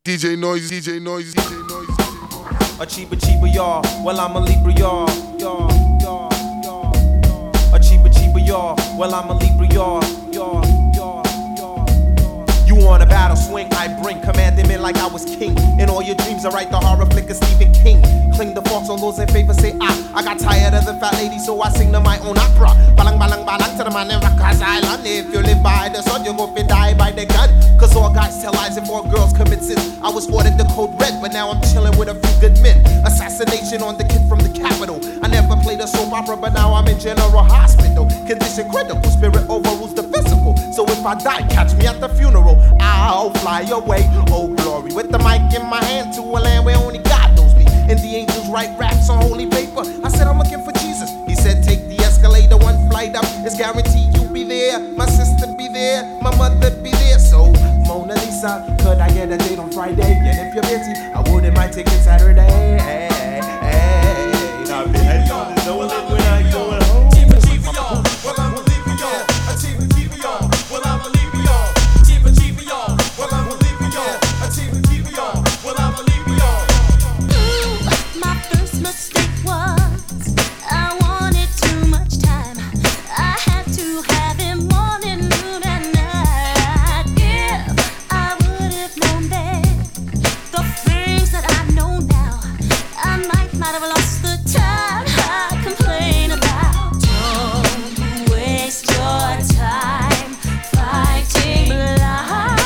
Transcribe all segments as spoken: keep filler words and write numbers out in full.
D J Noise, D J Noise, D J Noise. Achiever, cheaper, y'all. Well, I'm a Libra, y'all. Y'all, y'all, y'all. Achiever, cheaper, y'all. Well, I'm a Libra, y'all. Y'all, y'all, y'all. You on a battle swing, I bring commanding men like I was king. In all your dreams, I write the horror flick of Stephen King. Cling the forks on those in favor, say ah. I got tired of the fat lady, so I sing to my own opera. Balang, balang, balang to the man in Rikers Island. If you live by the sun, you go fi die by the gun. Cause all guys tell lies and more girls commit sins. I was ordered the code red, but now I'm chilling with a few good men. Assassination on the kid from the capital. I never played a soap opera, but now I'm in general hospital. Condition critical, spirit overrules the physical. So if I die, catch me at the funeral. I'll fly away, oh glory. With the mic in my hand to a land where only God knows me. And the angels write raps on holy paper. I said I'm looking for Jesus. He said take the escalator one flight up. It's guaranteed you'll be there. My sister be there, my mother be there. So Mona Lisa, could I get a date on Friday? And if you're busy, I wouldn't mind taking Saturday. Hey, hey, hey. Now, man, no one live when I going home. Team of G V R, well I'm a Libra, y'all. A team of G V R, well I'm a Libra, y'all. Team of G V R, well I'm a Libra, y'all. A team of G V R, well I'm a Libra, y'all. Ooh, my first mistake was I wanted too much time. I had to have him morning, noon, and night. If I would have known then the things that I know now, I might, might have lost the time I complain about. Don't waste your time fighting blind.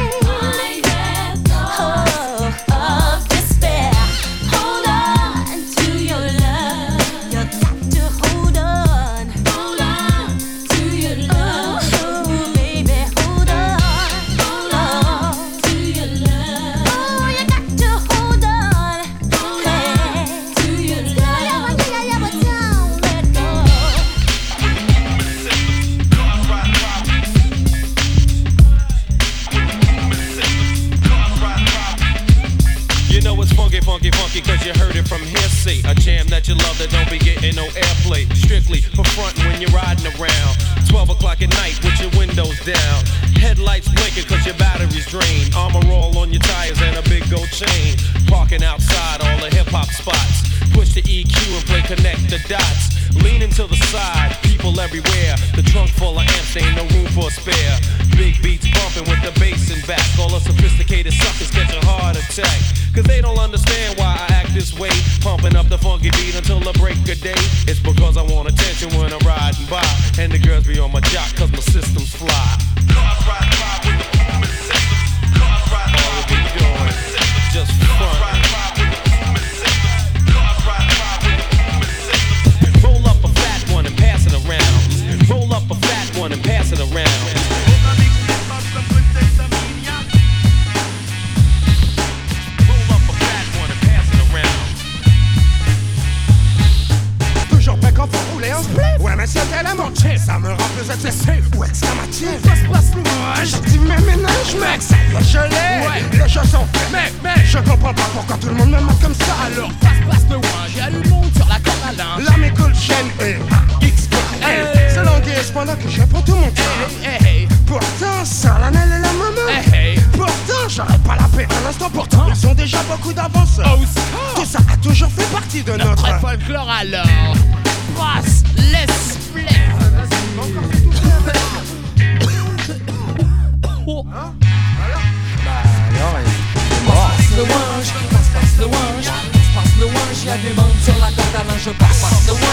Oh, of despair. Hold on to your love. You got to hold on. Hold on to your love. Oh, baby, hold on. Hold on to your love. Oh, you got to hold on. Hold on to your love. Yeah, yeah, yeah, yeah, but don't let go. You know it's funky, funky, funky, cause you heard it from hearsay. A jam that you love that don't be getting no airplay. Strictly for front when you're riding around. twelve o'clock at night with your windows down. Headlights blinking cause your battery's drained. Armor all on your tires and a big gold chain. Parking outside all the hip hop spots. Push the E Q and play connect the dots. Leaning to the side, people everywhere. The trunk full of amps, ain't no room for a spare. Big beats bumping with the bass in back. All the sophisticated suckers catch a heart attack. Cause they don't understand why I act this way. Pumping up the funky beat until the break of day. It's because I want attention when I'm riding by. And the girls be on my jock cause my system's fly. Cars ride by with the movement systems. Cars ride by with the movement systems. Just fun. Cars ride by with the movement systems. Cars ride by with the movement systems. Roll up a fat one and pass it around. Roll up a fat one and pass it around. Ouais mais c'était la montée, ça me rend plus excessif ou exclamatif. Ça se passe le moi, je dis mais ménage mec, ça y est je l'ai. Ouais, les choses sont faites, mec, mec, je comprends pas pourquoi tout le monde me marque comme ça. Alors passe, passe le ouin, j'ai du monde sur la corde à linge. La m'écoule chaîne et X L. C'est language pendant que je prends tout mon temps. Hey, hey, pourtant, solennel et la maman. Hey, hey, pourtant, j'aurais pas la paix à l'instant. Pourtant, ils ont déjà beaucoup d'avance. Oh, tout ça a toujours fait partie de notre, notre folklore alors. Brasse, laisse, plaît. Hein? Bah alors, il est mort. Passe le wange, passe, passe le wange, passe, passe le wange. Y'a des bandes sur la corde à linge, passe, passe le wange.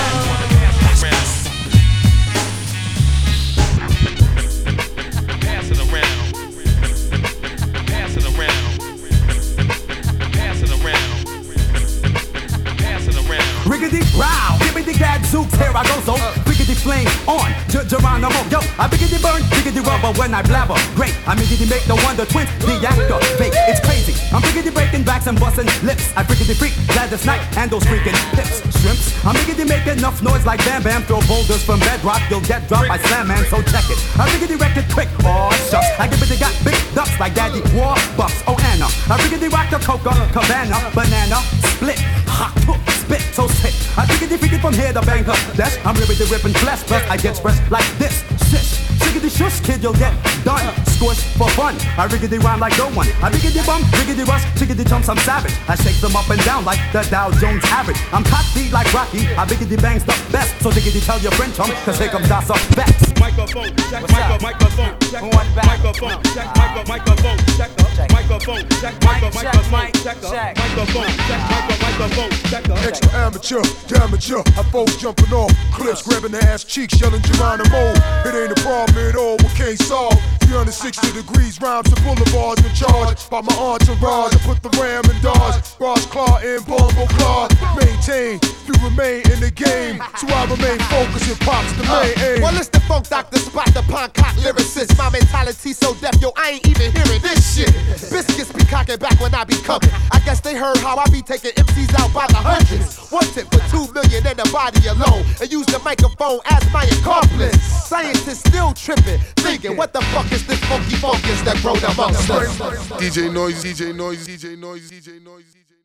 Pass it around. Pass it around. Pass it around. Pass it around. Riggedy row, gibbity gadzooks, here I go, so biggity flame on, Geronimo, yo, I biggity burn, biggity rubber when I blabber, great, I biggity make the wonder twins, the actor, fake, it's crazy, I'm biggity breaking backs and busting lips, I biggity freak, Gladys Knight, and those freaking hips, shrimps, I'm biggity make enough noise like Bam Bam, throw boulders from bedrock, you'll get dropped by Slam Man, so check it, I biggity wreck it quick, oh shucks, I biggity got big ducks like Daddy Warbucks, oh Anna, I biggity rock the Coca Cabana, banana, split, hot, spit, so sick, I biggity freak it from here to Bangkok, dash, I'm ripping the ripping flesh, plus I get expressed like this, shish, shiggity Riggedy shush, kid, you'll get done. Squish for fun. I riggedy rhyme like no one. I riggedy bum, riggedy rush, chickedy chumps, I'm savage. I shake them up and down like the Dow Jones average. I'm cocky like Rocky. I riggedy bangs the best. So diggity tell your friend chum, cause here comes our suspects. Microphone, check, micro, microphone, check, microphone, check, micro, microphone, check, microphone, check, micro, microphone, check, microphone, check, micro, microphone, check. Extra amateur, amateur. I folks jumping off cliffs, grabbing their ass cheeks, yelling Geronimo. It ain't a problem at all, we can't solve. three hundred sixty degrees, rhymes and boulevards in charge. By my entourage, I put the ram in Dodge. Ross Claw and Bumble Claw. Maintain, you remain in the game. So I remain focused and pop's the main aim. Well, it's the funk doctor, spot the Poncock lyricist. My mentality so deaf, yo, I ain't even hearing this shit. Biscuits be cocking back when I be coming. I guess they heard how I be taking M Cs out by the hundreds. One tip for two million in the body alone. And use the microphone as my accomplice. Scientists still tripping, thinking, what the fuck is this funky fungus that growed amongst us? D J Noise, D J Noise, D J Noise, D J Noise, D J Noise.